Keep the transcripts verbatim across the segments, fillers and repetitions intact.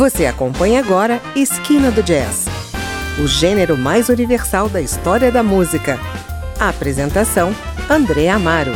Você acompanha agora Esquina do Jazz, o gênero mais universal da história da música. A apresentação, André Amaro.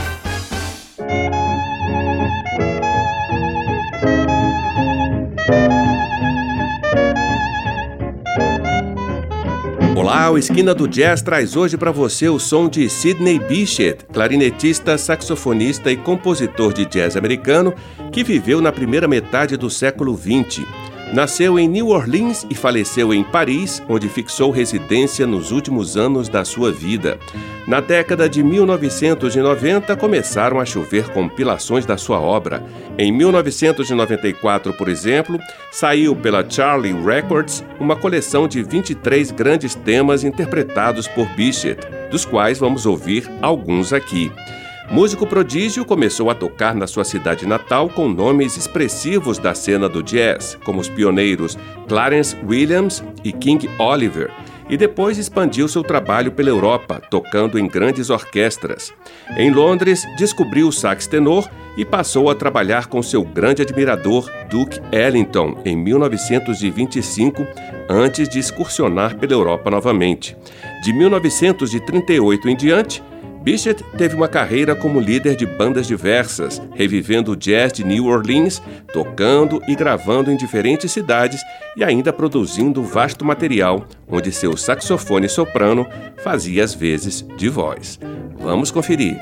Olá, o Esquina do Jazz traz hoje para você o som de Sidney Bechet, clarinetista, saxofonista e compositor de jazz americano que viveu na primeira metade do século vinte. Nasceu em New Orleans e faleceu em Paris, onde fixou residência nos últimos anos da sua vida. Na década de mil novecentos e noventa, começaram a chover compilações da sua obra. Em mil novecentos e noventa e quatro, por exemplo, saiu pela Charlie Records uma coleção de vinte e três grandes temas interpretados por Bechet, dos quais vamos ouvir alguns aqui. Músico prodígio, começou a tocar na sua cidade natal com nomes expressivos da cena do jazz, como os pioneiros Clarence Williams e King Oliver, e depois expandiu seu trabalho pela Europa, tocando em grandes orquestras. Em Londres, descobriu o sax tenor e passou a trabalhar com seu grande admirador, Duke Ellington, em mil novecentos e vinte e cinco, antes de excursionar pela Europa novamente. De mil novecentos e trinta e oito em diante, Bechet teve uma carreira como líder de bandas diversas, revivendo o jazz de New Orleans, tocando e gravando em diferentes cidades e ainda produzindo vasto material, onde seu saxofone soprano fazia as vezes de voz. Vamos conferir.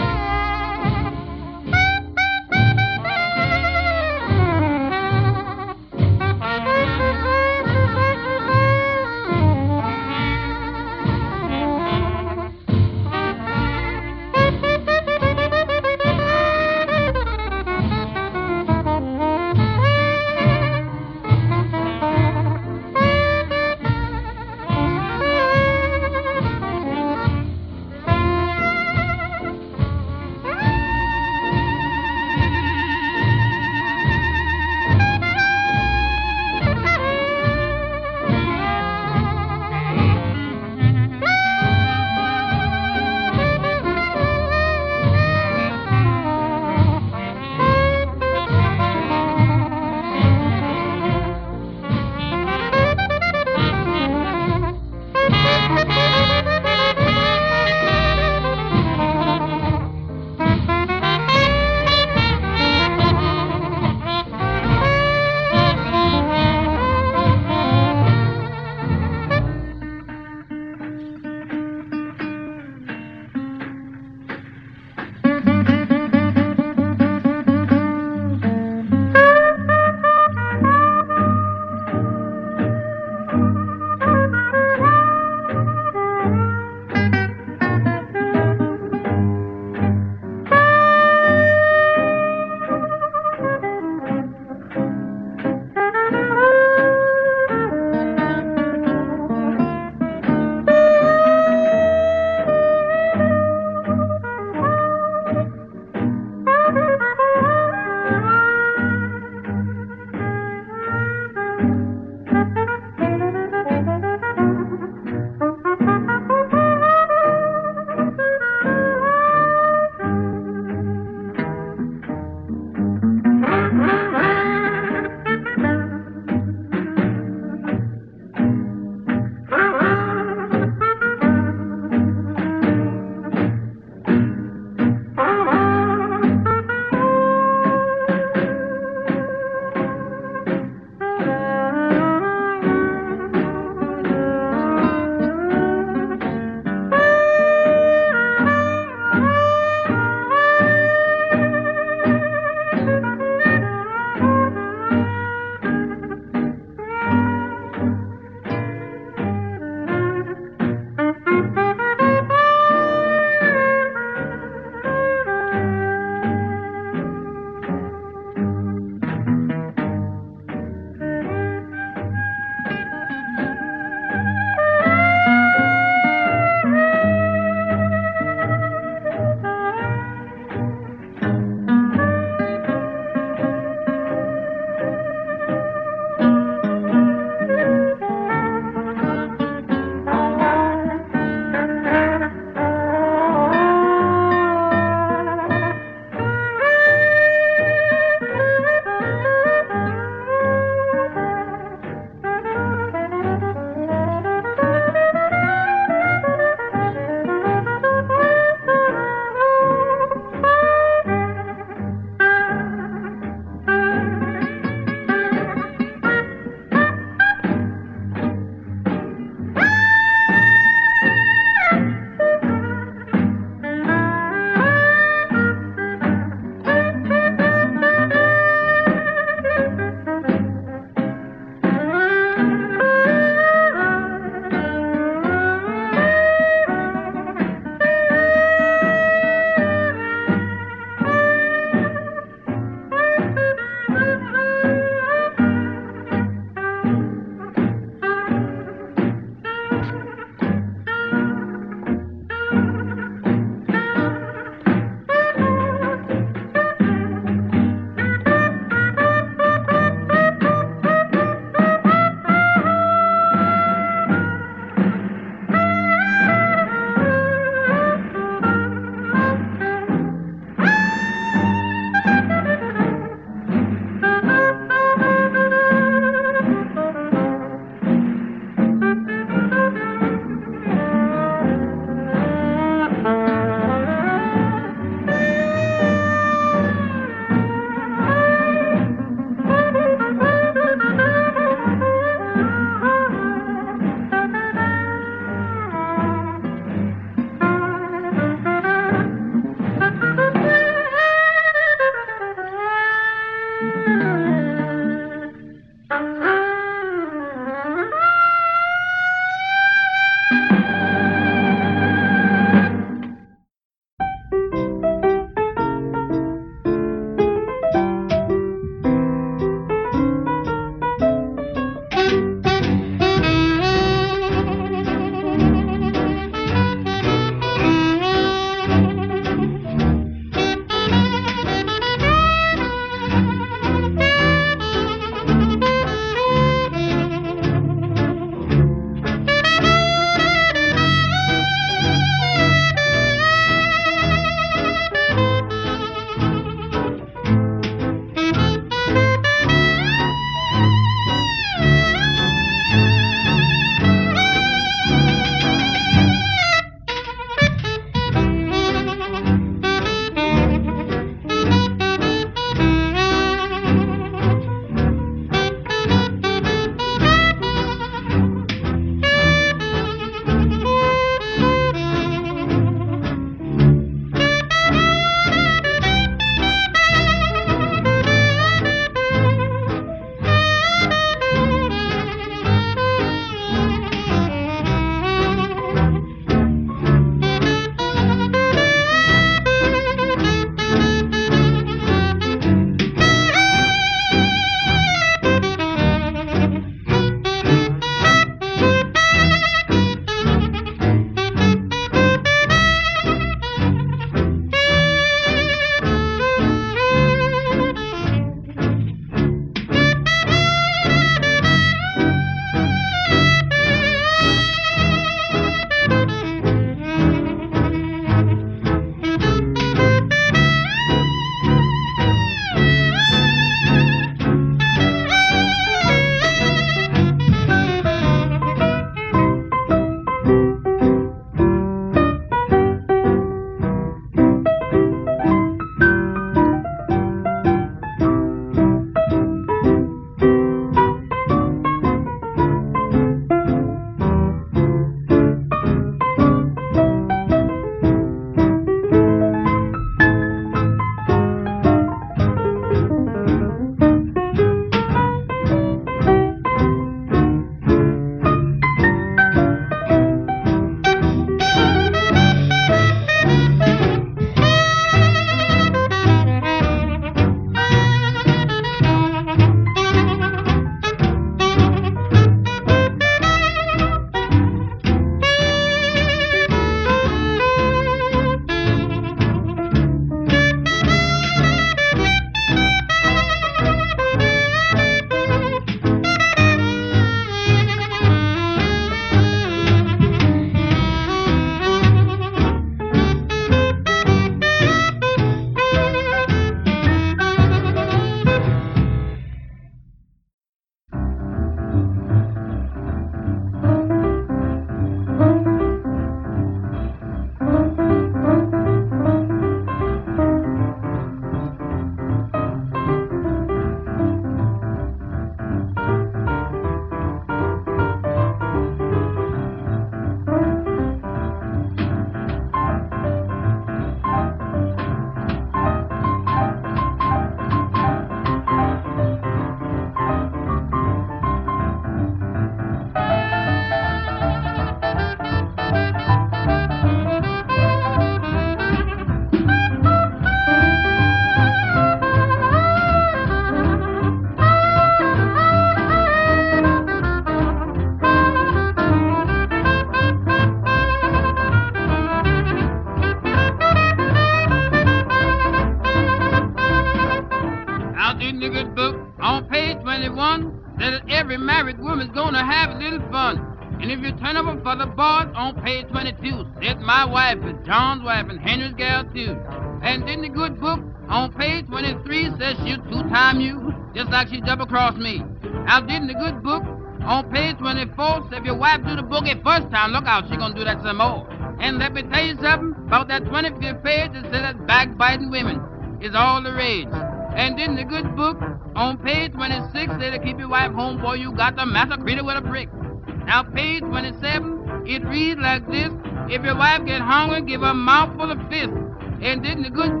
every married woman's gonna have a little fun. And if you turn over for the boys on page twenty-two, said my wife is John's wife and Henry's gal too. And in the good book on page twenty-three says she'll two-time you, just like she double-crossed me. Now didn't the good book on page twenty-four say if your wife do the boogie first time, look out, she gonna do that some more. And let me tell you something about that twenty-fifth page that says that backbiting women is all the rage. And in the good book on page twenty-six say to keep your wife home, boy, you got to massacre her with a brick. Now page twenty-seven, it reads like this: if your wife get hungry, give her a mouthful of fish. And in the good book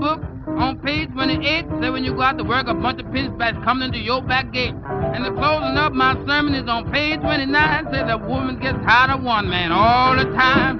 On page twenty-eight, say when you go out to work, a bunch of pinstripes coming into your back gate. And the closing up my sermon is on page twenty-nine, say the woman gets tired of one man all the time.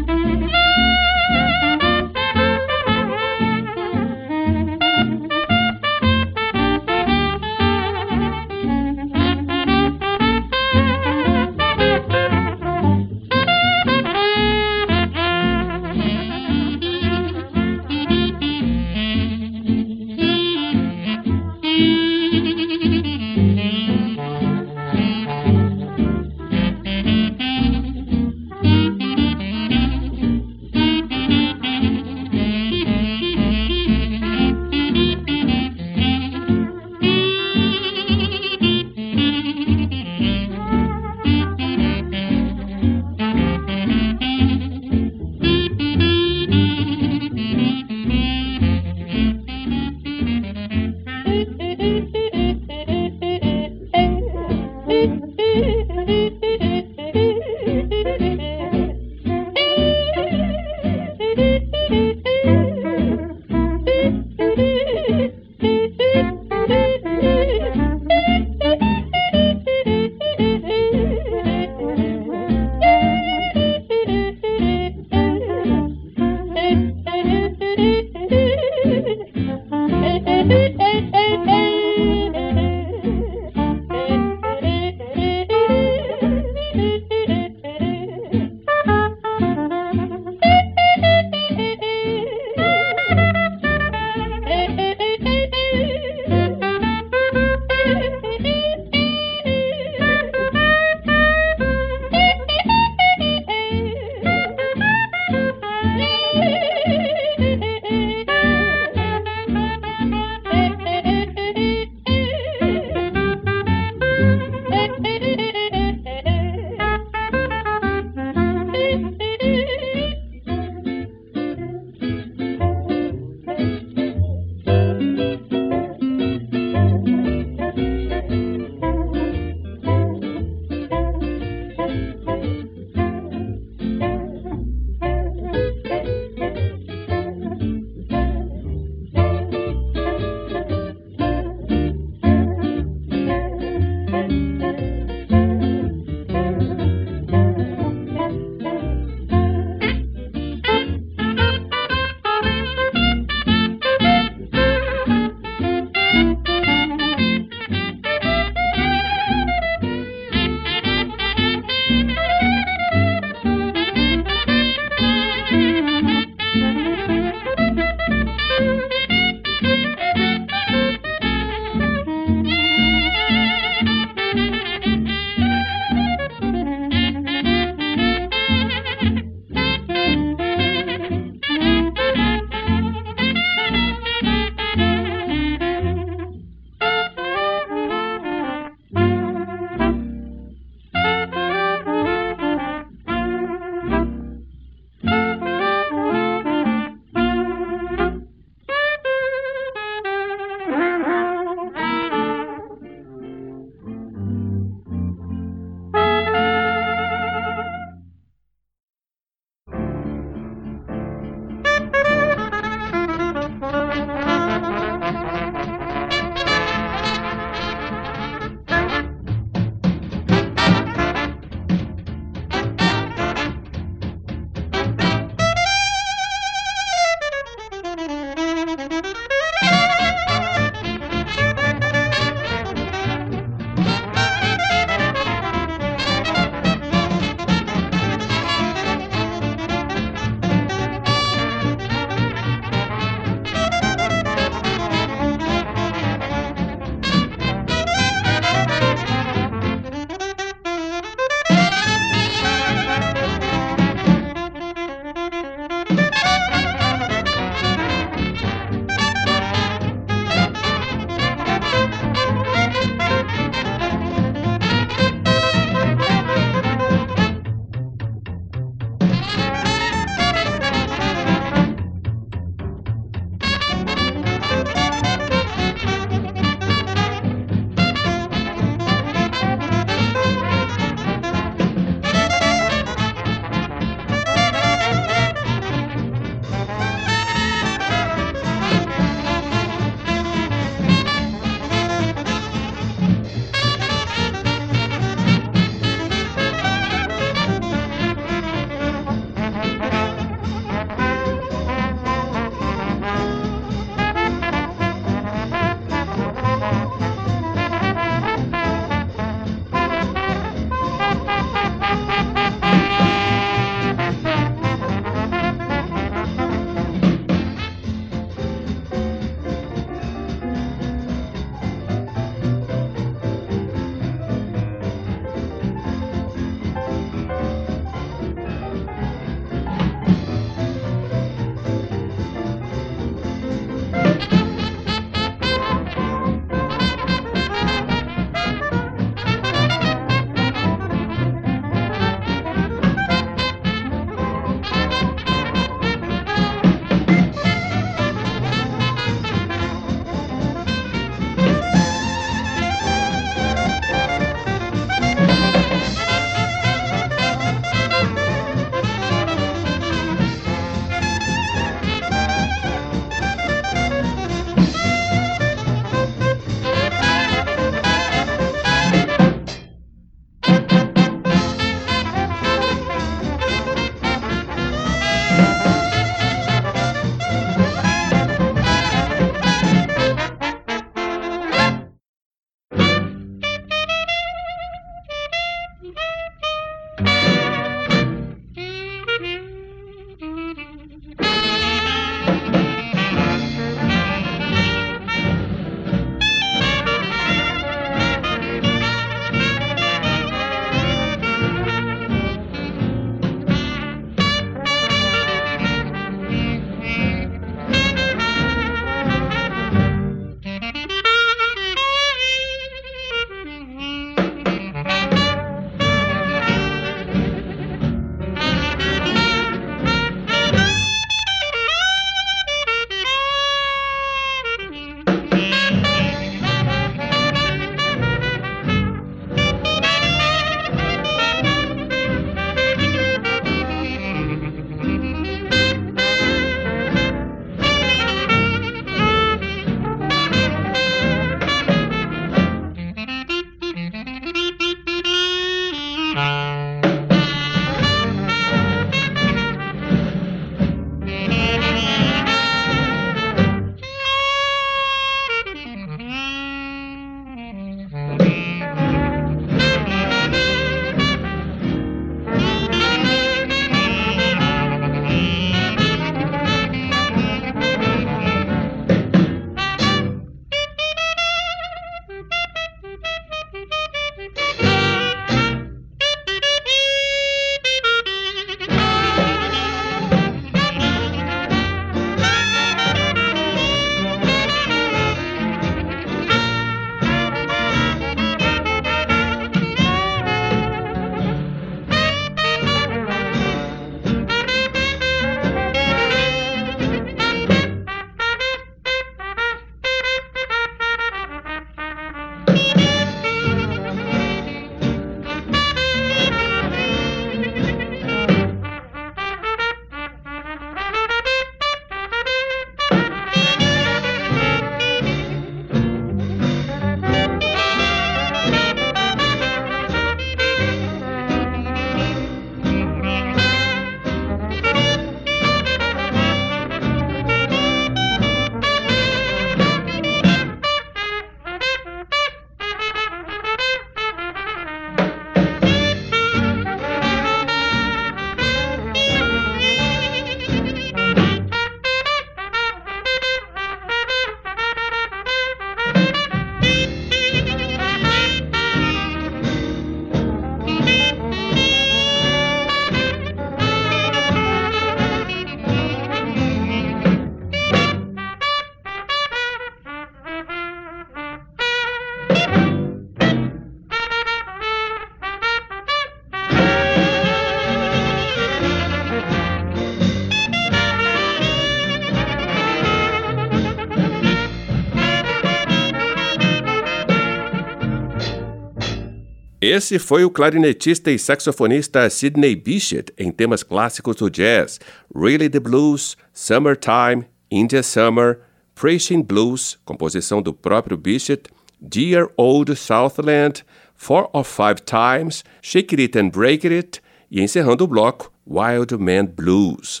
Esse foi o clarinetista e saxofonista Sidney Bechet em temas clássicos do jazz, Really the Blues, Summertime, Indian Summer, Preaching Blues, composição do próprio Bechet, Dear Old Southland, Four or Five Times, Shake It and Break It e encerrando o bloco, Wild Man Blues.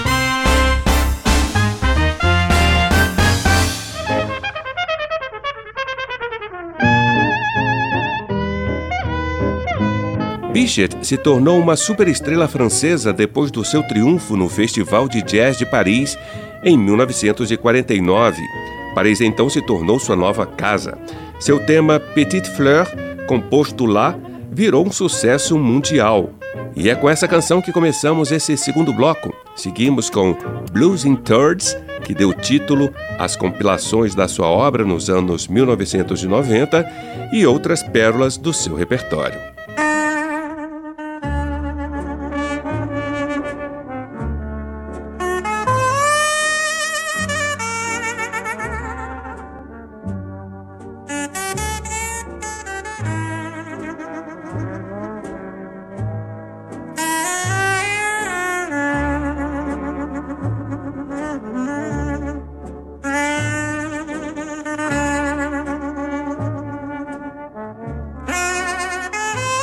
Bechet se tornou uma superestrela francesa depois do seu triunfo no Festival de Jazz de Paris em mil novecentos e quarenta e nove. Paris então se tornou sua nova casa. Seu tema Petite Fleur, composto lá, virou um sucesso mundial. E é com essa canção que começamos esse segundo bloco. Seguimos com Blues in Thirds, que deu título às compilações da sua obra nos anos mil novecentos e noventa e outras pérolas do seu repertório. Thank you.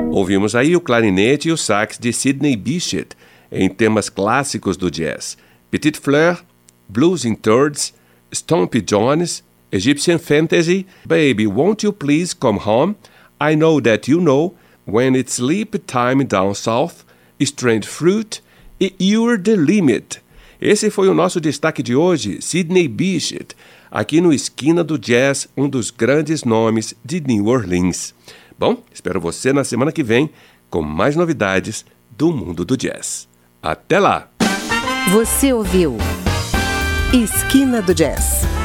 Ouvimos aí o clarinete e o sax de Sidney Bechet em temas clássicos do jazz: Petite Fleur, Blues in Thirds, Stompy Jones, Egyptian Fantasy, Baby Won't You Please Come Home, I Know That You Know, When It's Sleep Time Down South, Strange Fruit e You're the Limit. Esse foi o nosso destaque de hoje, Sidney Bechet, aqui no Esquina do Jazz, um dos grandes nomes de New Orleans. Bom, espero você na semana que vem com mais novidades do mundo do jazz. Até lá! Você ouviu Esquina do Jazz.